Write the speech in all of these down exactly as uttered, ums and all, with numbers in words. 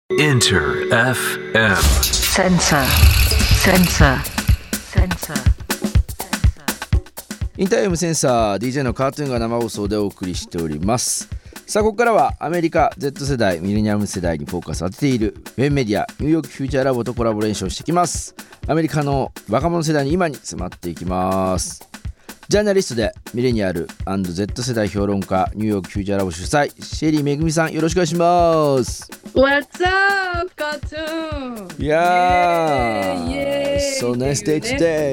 Inter エフエム Sensor Sensor Sensor インター エフエム センサー ディージェー のカートゥーンが生放送でお送りしております。さあここからはアメリカ Z 世代ミレニアム世代にフォーカスを当てているウェブメディアニューヨークフューチャーラボとコラボレーションしていきます。アメリカの若者世代に今に迫っていきます。ジャーナリストでミレニアル &Z 世代評論家ニューヨークフューチャーラボ主催シェリーめぐみさん、よろしくお願いします。 What's up, cartoon? いやー Yay! So nice day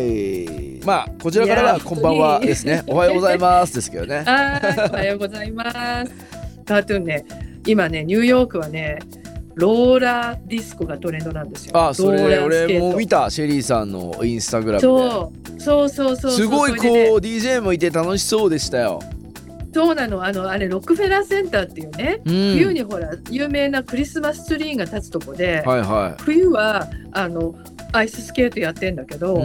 today。 まあこちらからはこんばんはですね。おはようございますですけどね。 あーおはようございます。カートゥーンね、今ねニューヨークはねローラーディスコがトレンドなんですよ。 あ、それローラースケート俺も見た、シェリーさんのインスタグラムで。 そうそうそうそう、 すごいこう、 それでね、 ディージェー もいて楽しそうでしたよ。 そうなの、あのあれロックフェラーセンターっていうね、 うん、 冬にほら有名なクリスマスツリーが立つとこで、 はいはい、 冬はあのアイススケートやってんだけど、 うん、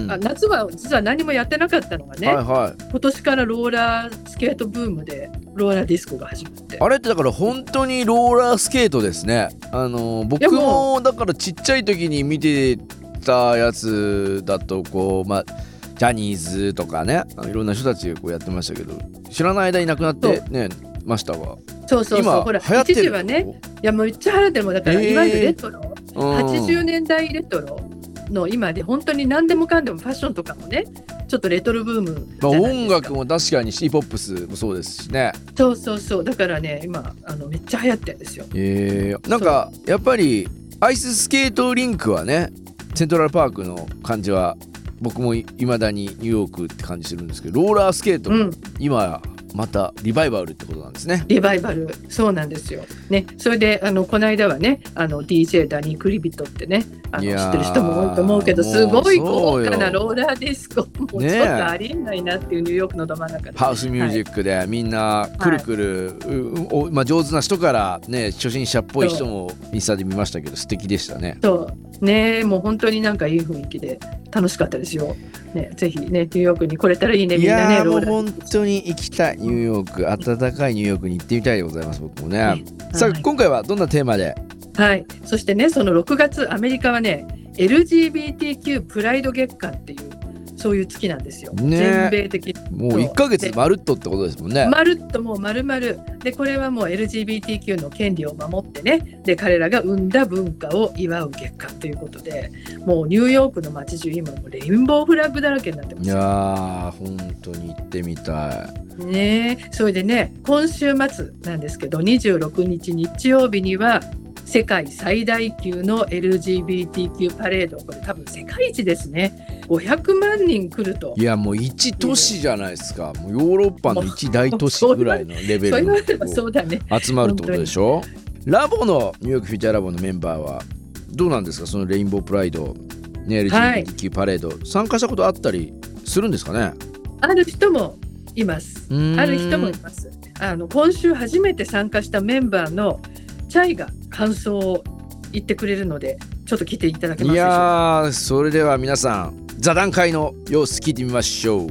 あ夏は実は何もやってなかったのがね、 はいはい、 今年からローラースケートブームでローラーディスコが始まって、 あれってだから本当にローラースケートですね。あの僕もだからちっちゃい時に見てたやつだとこう、まあジャニーズとかね、いろんな人たちがこうやってましたけど、知らない間に亡くなってねましたが、 そうそうそう、 今ほら流行ってる。 一時はね、いやもうめっちゃ流行ってるもんだから、 えー、 いわゆるレトロ、 うん、 はちじゅうねんだいレトロの今で本当に何でもかんでもファッションとかもねちょっとレトロブームじゃないですか。 まあ、音楽も確かにシティポップスもそうですしね。 そうそうそう、だからね今あのめっちゃ流行ってるんですよ。 えー、なんかやっぱりアイススケートリンクはね、セントラルパークの感じは僕もいまだにニューヨークって感じするんですけど、ローラースケート、うん、今またリバイバルってことなんですね。 リバイバル、そうなんですよね。それであのこの間はね、あの ディージェー ダニー・クリビットってね、あの知ってる人も多いと思うけど、すごい豪華なローラーディスコ、もうちょっとありえないなっていうニューヨークのど真ん中で、ね、 ハウスミュージックでみんなくるくる、はい、まあ、上手な人からね初心者っぽい人もインスタで見ましたけど素敵でしたね。 そうね、もう本当になんかいい雰囲気で楽しかったですよ、ね、ぜひねニューヨークに来れたらいいね、みんなね。 いやーもう本当に行きたい、ニューヨーク、暖かいニューヨークに行ってみたいでございます、僕もね、はい、さあ、はい、今回はどんなテーマで。 はい、そしてね、そのろくがつアメリカはね エルジービーティーキュー プライド月間っていうそういう月なんですよ、ね、全米的にもういっかげつまるっとってことですもんね。 まるっともうまるまるで、これはもう エルジービーティーキュー の権利を守ってね、で彼らが生んだ文化を祝う月間ということで、もうニューヨークの街中今もうレインボーフラッグだらけになってますよ。 いやー本当に行ってみたいね。それでね、今週末なんですけどにじゅうろくにち日曜日には世界最大級の エルジービーティーキュー パレード、これ多分世界一ですね。ごひゃくまんにん来ると。 いやもう一都市じゃないですか。もうヨーロッパの一大都市ぐらいのレベルの集まるってことでしょ。ラボのニューヨークフューチャーラボのメンバーはどうなんですか、そのレインボープライド、ね、エルジービーティーキュー パレード、はい、参加したことあったりするんですかね。 ある人もいます。ある人もいます。あの今週初めて参加したメンバーのチャイが感想を言ってくれるので、ちょっと聞いていただけますでしょうか。いやー、それでは皆さん座談会の様子聞いてみましょう。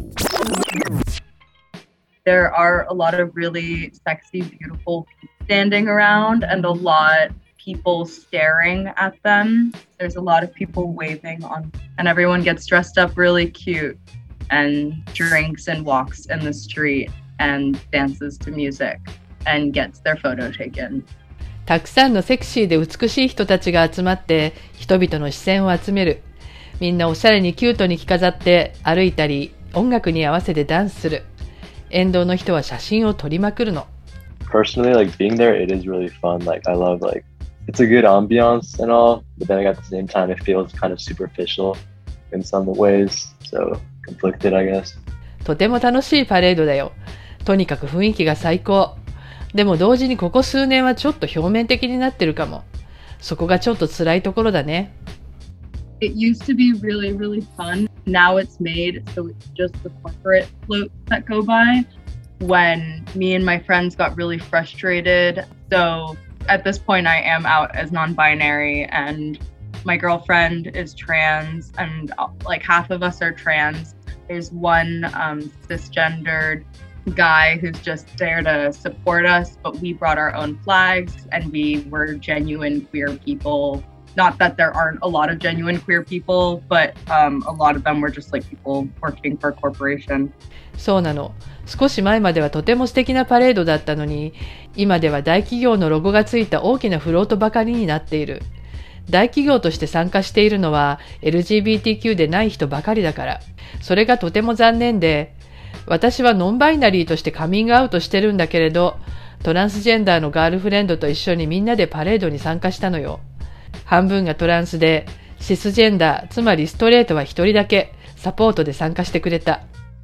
There are a lot of really sexy, beautiful people standing around and a lot of people staring at them. There's a lot of people waving on, and everyone gets dressed up really cute and drinks and walks in the street and dances to music and gets their photo taken. たくさんのセクシーで美しい人たちが集まって人々の視線を集める。みんなおしゃれにキュートに着飾って歩いたり、音楽に合わせてダンスする。沿道の人は写真を撮りまくるの。 Personally, like being there, it is really fun. Like I love like it's a good ambiance and all, but then at the same time, it feels kind of superficial in some ways. So conflicted, I guess. とても楽しいパレードだよ。とにかく雰囲気が最高。でも同時にここ数年はちょっと表面的になってるかも。そこがちょっと辛いところだね。 It used to be really, really fun. Now it's made so it's just the corporate floats that go by. When me and my friends got really frustrated. So at this point I am out as non-binary and my girlfriend is trans and like half of us are trans. There's one um, cisgendered guy who's just there to support us, but we brought our own flags and we were genuine queer people. Not that there aren't a lot of genuine queer people, but um, a lot of them were just like people working for a corporation. そうなの。少し前まではとても素敵なパレードだったのに、今では大企業のロゴがついた大きなフロートばかりになっている。大企業として参加しているのは エルジービーティーキュー でない人ばかりだから。それがとても残念で、私はノンバイナリーとしてカミングアウトしてるんだけれど、トランスジェンダーのガールフレンドと一緒にみんなでパレードに参加したのよ。半分がトランスで、シスジェンダー、つまりストレートは一人だけサポートで参加してくれた。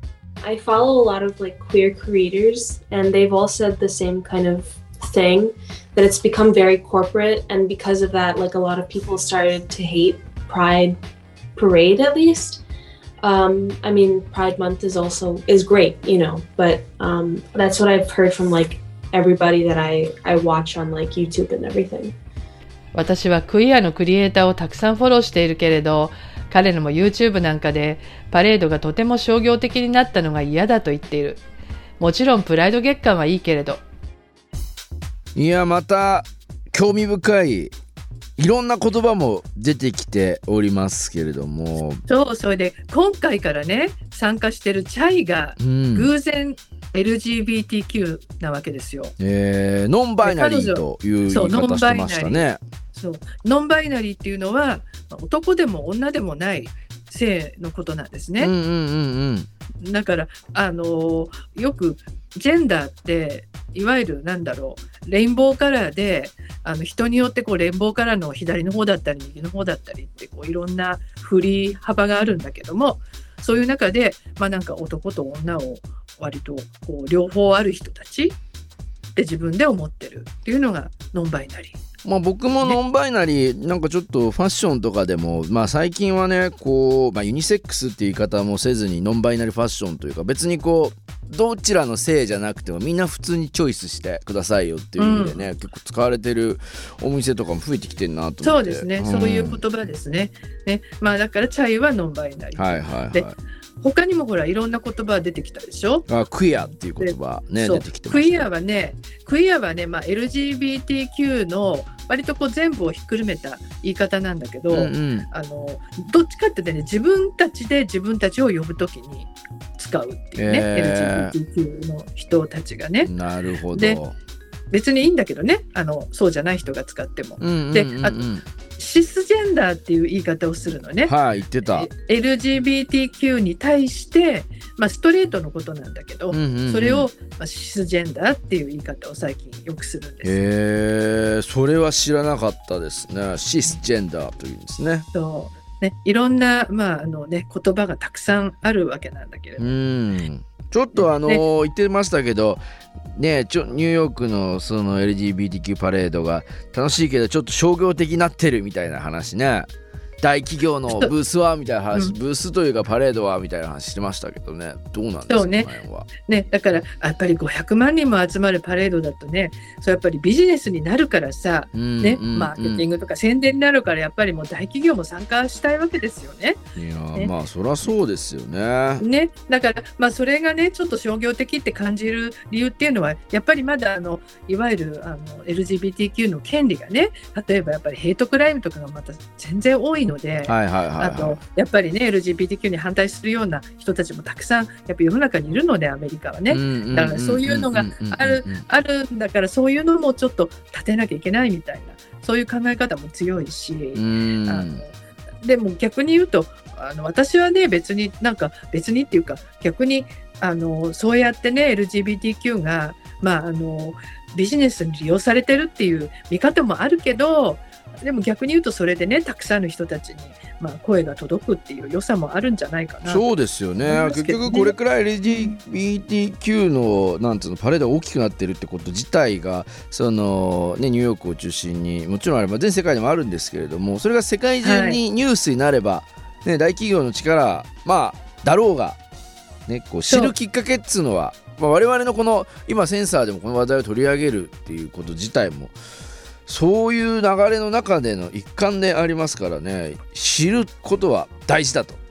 I follow a lot of like queer creators, and they've all said the same kind of thing, that it's become very corporate, and because of that, like a lot of people started to hate Pride Parade at least. Um, I mean, Pride Month is also is great, you know, but um, that's what I've heard from like everybody that I I watch on like YouTube and everything. 私はクイアのクリエイターをたくさんフォローしているけれど、彼らも YouTube なんかでパレードがとても商業的になったのが嫌だと言っている。もちろんプライド月間はいいけれど。 いや、また興味深いいろんな言葉も出てきておりますけれども、 そう、それで今回からね参加してるチャイが偶然 エルジービーティーキュー なわけですよ、 うんえー、ノンバイナリーという言い方してましたね。 そう、ノンバイナリーっていうのは男でも女でもない性のことなんですね、 うんうんうんうん、 だからあのよくジェンダーっていわゆるなんだろうレインボーカラーであの人によってこうレインボーカラーの左の方だったり右の方だったりってこういろんな振り幅があるんだけども、そういう中でまあなんか男と女を割とこう両方ある人たちって自分で思ってるっていうのがノンバイナリー。 まあ、僕もノンバイナリー、ね、なんかちょっとファッションとかでも、まあ、最近はねこう、まあ、ユニセックスっていう言い方もせずにノンバイナリーファッションというか別にこうどちらの性じゃなくてもみんな普通にチョイスしてくださいよっていう意味でね、うん、結構使われてるお店とかも増えてきてるなと思って。 そうですね、 うん、 そういう言葉ですね。ね、まあ、だからチャイはノンバイナリー、 はいはいはい、 で他にもほらいろんな言葉出てきたでしょ。 あ、クイアっていう言葉ね出てきてました。 クイアはね、クイアはね、まあ、エルジービーティーキュー の割とこう全部をひっくるめた言い方なんだけど、うんうん、あのどっちかってね自分たちで自分たちを呼ぶときに使うっていうね、えー、エルジービーティーキュー の人たちがね。 なるほど。 で別にいいんだけどね、あのそうじゃない人が使っても、うんうんうんうん、であとシスジェンダーっていう言い方をするのね。 はい、言ってた。 エルジービーティーキュー に対して、まあ、ストレートのことなんだけど、うんうんうん、それを、まあ、シスジェンダーっていう言い方を最近よくするんです。 へー、それは知らなかったですね。シスジェンダーというんですね。 そうね、いろんな、まああのね、言葉がたくさんあるわけなんだけれども、 うんちょっとあのーね、言ってましたけどね、ちょニューヨークのその エルジービーティーキュー パレードが楽しいけどちょっと商業的になってるみたいな話ね。大企業のブースはみたいな話、うん、ブースというかパレードはみたいな話してましたけどね、どうなんですか。 そうね、ね、だからやっぱりごひゃくまんにんも集まるパレードだとね、そうやっぱりビジネスになるからさ、うんね、マーケティングとか宣伝になるからやっぱりもう大企業も参加したいわけですよね。 いや、ね、まあそりゃそうですよね。 ね、だからまあそれがねちょっと商業的って感じる理由っていうのはやっぱりまだあのいわゆるあの エルジービーティーキュー の権利がね、例えばやっぱりヘイトクライムとかがまた全然多いので、 はいはいはいはい、 あとやっぱりね エルジービーティーキュー に反対するような人たちもたくさんやっぱ世の中にいるのでアメリカはね、だからそういうのがあるあるんだからそういうのもちょっと立てなきゃいけないみたいなそういう考え方も強いし、うんあのでも逆に言うとあの私はね別になんか別にっていうか逆にあのそうやってね エルジービーティーキュー が、まあ、あのビジネスに利用されてるっていう見方もあるけど、でも逆に言うとそれでねたくさんの人たちに、まあ、声が届くっていう良さもあるんじゃないかな。 そうですよ ね, ね結局これくらい エルジービーティーキュー のなんつうのパレードが大きくなってるってこと自体がその、ね、ニューヨークを中心にもちろんあれば全世界でもあるんですけれども、それが世界中にニュースになれば、はいね、大企業の力、まあ、だろうが、ね、こう知るきっかけっつうのは、まあ、我々のこの今センサーでもこの話題を取り上げるっていうこと自体もそういう流れの中での一環でありますからね、知ることは大事だと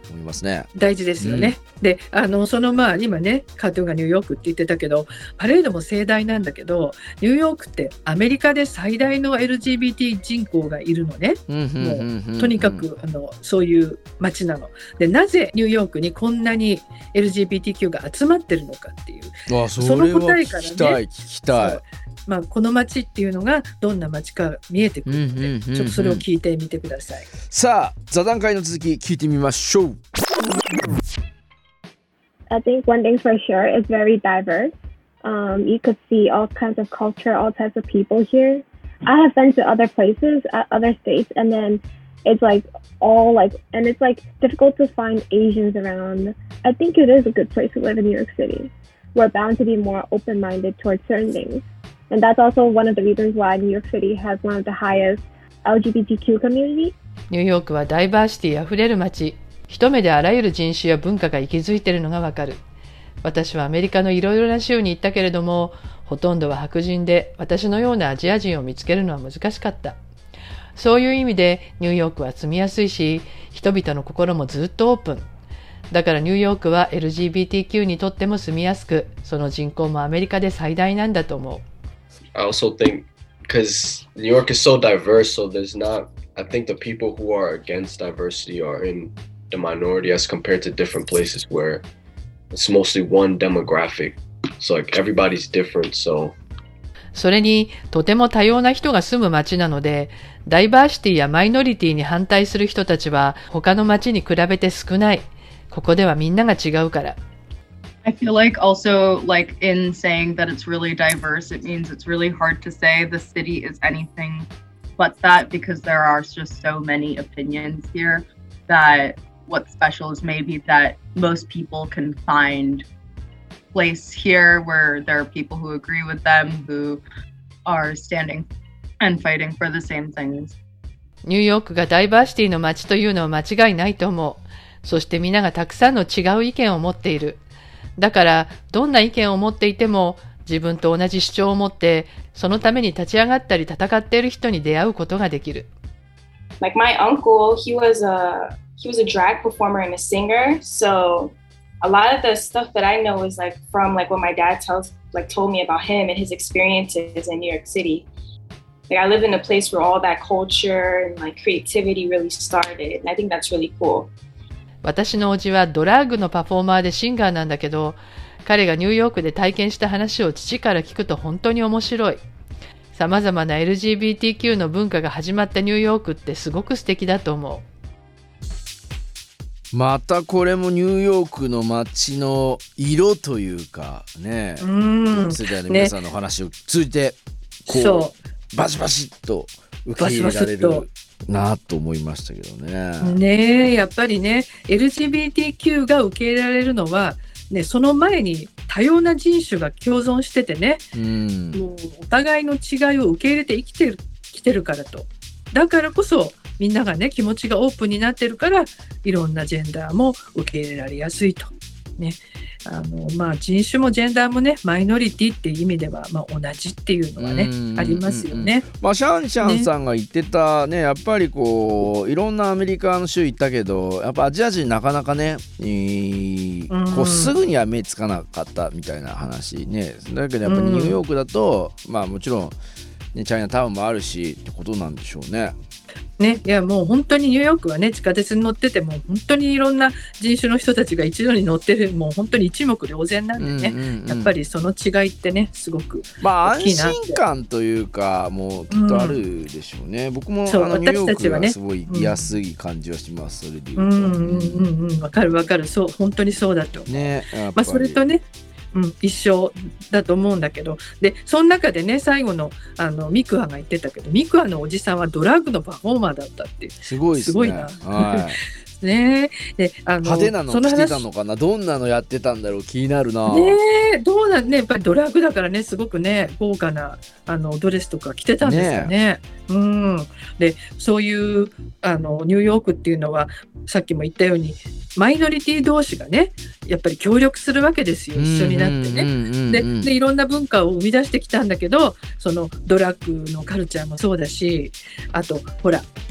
思いますね。 大事ですよね、うん、であのそのまあ今ねカートゥーンがニューヨークって言ってたけどパレードも盛大なんだけどニューヨークってアメリカで最大の エルジービーティー 人口がいるのね、うん、もうとにかくあのそういう街なのでなぜニューヨークにこんなに エルジービーティーキュー が集まってるのかっていうあ そ, その答えからね聞きたい聞きたいまあ、この街っていうのがどんな街か見えてくるので、うんうんうんうん、ちょっとそれを聞いてみてください。 さあ座談会の続き聞いてみましょう。 I think one thing for sure is very diverse. Um, you could see all kinds of culture, all types of people here. I have been to other places, uh, other states, and then it's like all like, and it's like difficult to find Asians around. I think it is a good place to live in New York City. We're bound to be more open-minded towards certain things.And that's also one of the reasons why New York City has one of the highest エルジービーティーキュー community. ニューヨークはダイバーシティあふれる街。一目であらゆる人種や文化が息づいているのがわかる。私はアメリカのいろいろな州に行ったけれども、ほとんどは白人で私のようなアジア人を見つけるのは難しかった。そういう意味でニューヨークは住みやすいし、人々の心もずっとオープン。だからニューヨークは エルジービーティーキュー にとっても住みやすく、その人口もアメリカで最大なんだと思う。 I also think because New York is so diverse, so there's not, I think the people who are against diversity are in the minority as compared to different places where it's mostly one demographic. So like everybody's different, so. それにとても多様な人が住む街なので、ダイバーシティやマイノリティに反対する人たちは他の街に比べて少ない。ここではみんなが違うから。 I feel like also like in saying that it's really diverse, it means it's really hard to say the city is anything but that because there are just so many opinions here that what's special is maybe that most people can find place here where there are people who agree with them, who are standing and fighting for the same things. ニューヨークがダイバーシティの街というのは間違いないと思う。そしてみんながたくさんの違う意見を持っている。だからどんな意見を持っていても自分と同じ主張を持ってそのために立ち上がったり戦っている人に出会うことができる。 Like my uncle, he was a he was a drag performer and a singer. So a lot of the stuff that I know is like from like what my dad tells like told me about him and his experiences in New York City. Like I live in a place where all that culture and like creativity really started, and I think that's really cool. 私のおじはドラッグのパフォーマーでシンガーなんだけど、彼がニューヨークで体験した話を父から聞くと本当に面白い。様々な エルジービーティーキュー の文化が始まったニューヨークってすごく素敵だと思う。またこれもニューヨークの街の色というかね、うん世代の皆さんの話を通じてこう、そうバシバシッと受け入れられるなと思いましたけどね。 ねえやっぱりね エルジービーティーキュー が受け入れられるのは、ね、その前に多様な人種が共存しててね、うん、もうお互いの違いを受け入れて生きてる、生きてるからと。だからこそみんながね気持ちがオープンになってるからいろんなジェンダーも受け入れられやすいと。ねあのまあ、人種もジェンダーもねマイノリティっていう意味では、まあ、同じっていうのはねありますよね。 まあ、シャンシャンさんが言ってた ね, ねやっぱりこういろんなアメリカの州行ったけどやっぱアジア人なかなかね、えー、こうすぐには目つかなかったみたいな話ね。だけどやっぱりニューヨークだと、まあもちろん、ね、チャイナタウンもあるしってことなんでしょうね。 ね、いやもう本当にニューヨークはね地下鉄に乗ってても本当にいろんな人種の人たちが一度に乗ってるもう本当に一目瞭然なんでね、うんうんうん、やっぱりその違いってねすごくまあ安心感というかもうきっとあるでしょうね、うん、僕もあのニューヨークはすごい居やすい感じはします、うん、それで言うと、うんうんうん、わかるわかるそう本当にそうだと思う、ねまあ、それとねうん、一緒だと思うんだけどでその中でね最後 の, あのミクアが言ってたけどミクアのおじさんはドラッグのパフォーマーだったってすごいですね。 すごいな、はいねであの派手なの着てたのかなどんなのやってたんだろう気になるな。 ねどうなんねやっぱりドラッグだからねすごくね豪華なあのドレスとか着てたんですよ ね, ねうんでそういうあのニューヨークっていうのはさっきも言ったようにマイノリティ同士がねやっぱり協力するわけですよ一緒になってね。ででいろんな文化を生み出してきたんだけどそのドラッグのカルチャーもそうだしあとほら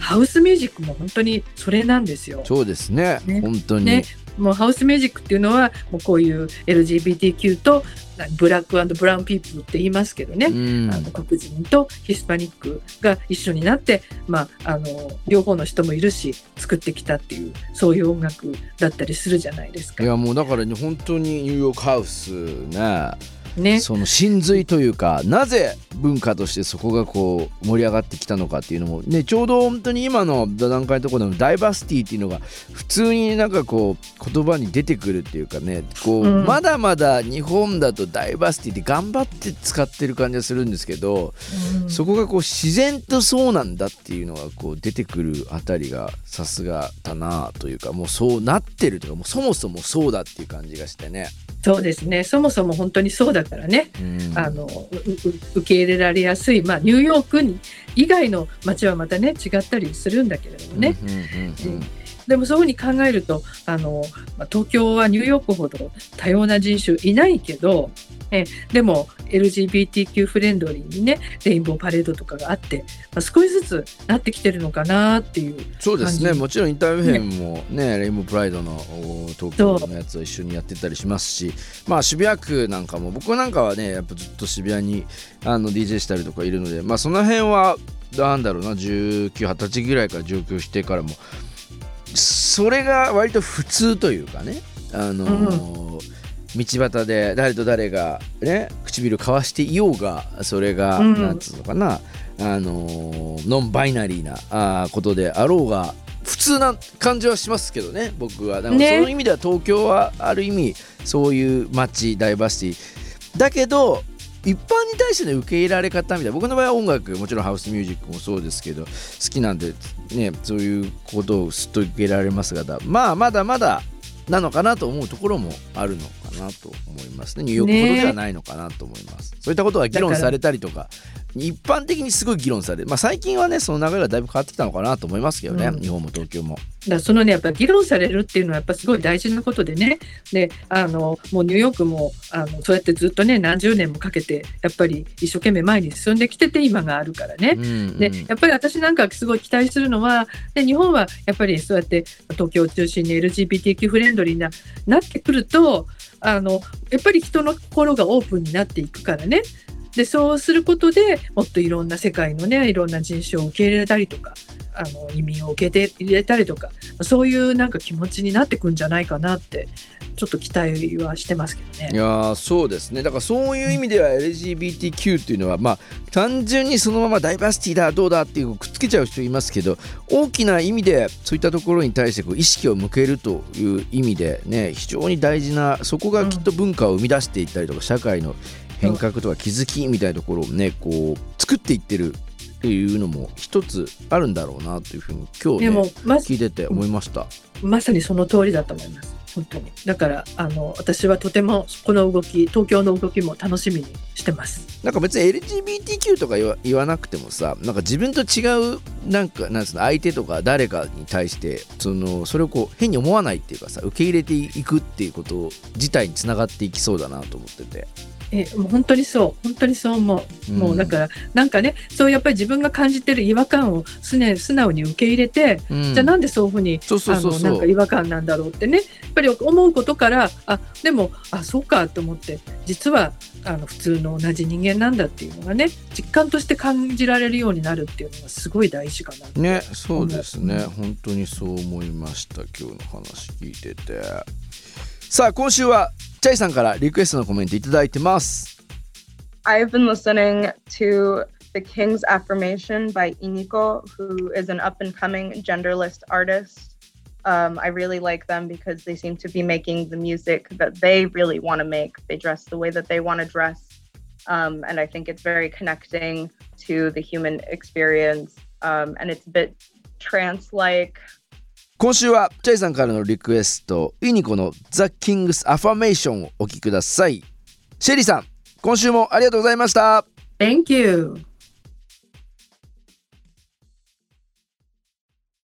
ハウスミュージックも本当にそれなんですよ。 そうですね、ね本当に、 ね、もうハウスミュージックっていうのはもうこういう エルジービーティーキュー とブラック&ブラウンピープルって言いますけどね、うん、あの黒人とヒスパニックが一緒になって、まあ、あの両方の人もいるし作ってきたっていうそういう音楽だったりするじゃないですか。 いやもうだからね本当にニューヨークハウスねね、 その真髄というかなぜ文化としてそこがこう盛り上がってきたのかっていうのも、ね、ちょうど本当に今の段階のところのダイバーシティっていうのが普通になんかこう言葉に出てくるっていうかねこう、うん、まだまだ日本だとダイバーシティって頑張って使ってる感じがするんですけど、うん、そこがこう自然とそうなんだっていうのがこう出てくるあたりがさすがだなというかもうそうなってるというかもうそもそもそうだっていう感じがしてね。 そうですねそもそも本当にそうだからね、うん、あの受け入れられやすい、まあ、ニューヨークに以外の街はまたね違ったりするんだけれどもね、うんうんうんうん、でもそういうふうに考えるとあの、まあ、東京はニューヨークほど多様な人種いないけどえでも エルジービーティーキュー フレンドリーにねレインボーパレードとかがあって、まあ、少しずつなってきてるのかなっていう感じ。 そうですねもちろんインターフェムも ね, ねレインボープライドの東京のやつを一緒にやってたりしますしまあ渋谷区なんかも僕なんかはねやっぱずっと渋谷にあの ディージェー したりとかいるのでまあその辺はなんだろうなじゅうきゅう、はたちぐらいから上京してからもそれが割と普通というかねあのーうん道端で誰と誰が、ね、唇交わしていようがそれが、うん、なんつうのかなあのノンバイナリーなあことであろうが普通な感じはしますけどね僕はだからその意味では東京はある意味そういう街ダイバーシティだけど一般に対しての受け入れられ方みたいな僕の場合は音楽もちろんハウスミュージックもそうですけど好きなんでねそういうことをすっと受け入れられますがまあまだまだなのかなと思うところもあるのかなと思いますね。ニューヨークほどではないのかなと思います、ね、そういったことが議論されたりとか一般的にすごい議論される、まあ、最近はねその流れがだいぶ変わってきたのかなと思いますけどね、うん、日本も東京もだからそのねやっぱり議論されるっていうのはやっぱすごい大事なことでねであのもうニューヨークもあのそうやってずっとね何十年もかけてやっぱり一生懸命前に進んできてて今があるからね、うんうん、でやっぱり私なんかすごい期待するのはで日本はやっぱりそうやって東京を中心に エルジービーティーキュー フレンドリーななってくるとあのやっぱり人の心がオープンになっていくからねでそうすることでもっといろんな世界のねいろんな人種を受け入れたりとかあの移民を受け入れたりとかそういうなんか気持ちになってくんじゃないかなってちょっと期待はしてますけどね。 いやそうですねだからそういう意味では エルジービーティーキュー っていうのはまあ単純にそのままダイバーシティだどうだっていうくっつけちゃう人いますけど大きな意味でそういったところに対してこう意識を向けるという意味でね非常に大事なそこがきっと文化を生み出していったりとか社会の変革とか気づきみたいなところをねこう作っていってるっていうのも一つあるんだろうなというふうに今日ね、ま、聞いてて思いました。 まさにその通りだと思います本当にだからあの私はとてもこの動き東京の動きも楽しみにしてます。 なんか別に エルジービーティーキュー とか言 わ, 言わなくてもさなんか自分と違うなんかなんつうの相手とか誰かに対してそのそれをこう変に思わないっていうかさ受け入れていくっていうこと自体につながっていきそうだなと思っててえもう本当にそう本当にそう思う、うん、もうだからなんかねそうやっぱり自分が感じてる違和感を素直に受け入れて、うん、じゃあなんでそういうふうになんか違和感なんだろうってねやっぱり思うことからあでもあそうかと思って実はあの普通の同じ人間なんだっていうのがね実感として感じられるようになるっていうのがすごい大事かなってねそうですね、うん、本当にそう思いました今日の話聞いててさあ今週はチャイさんからリクエストのコメントいただいてます。 I've been listening to The King's Affirmation by Iniko, who is an up-and-coming genderless artist. Um, I really like them because they seem to be making the music that they really want to make. They dress the way that they want to dress. Um, and I think it's very connecting to the human experience. Um, and it's a bit trance-like. 今週はチャイさんからのリクエストイニコの The King's Affirmation をお聴きください。シェリーさん今週もありがとうございました。 Thank you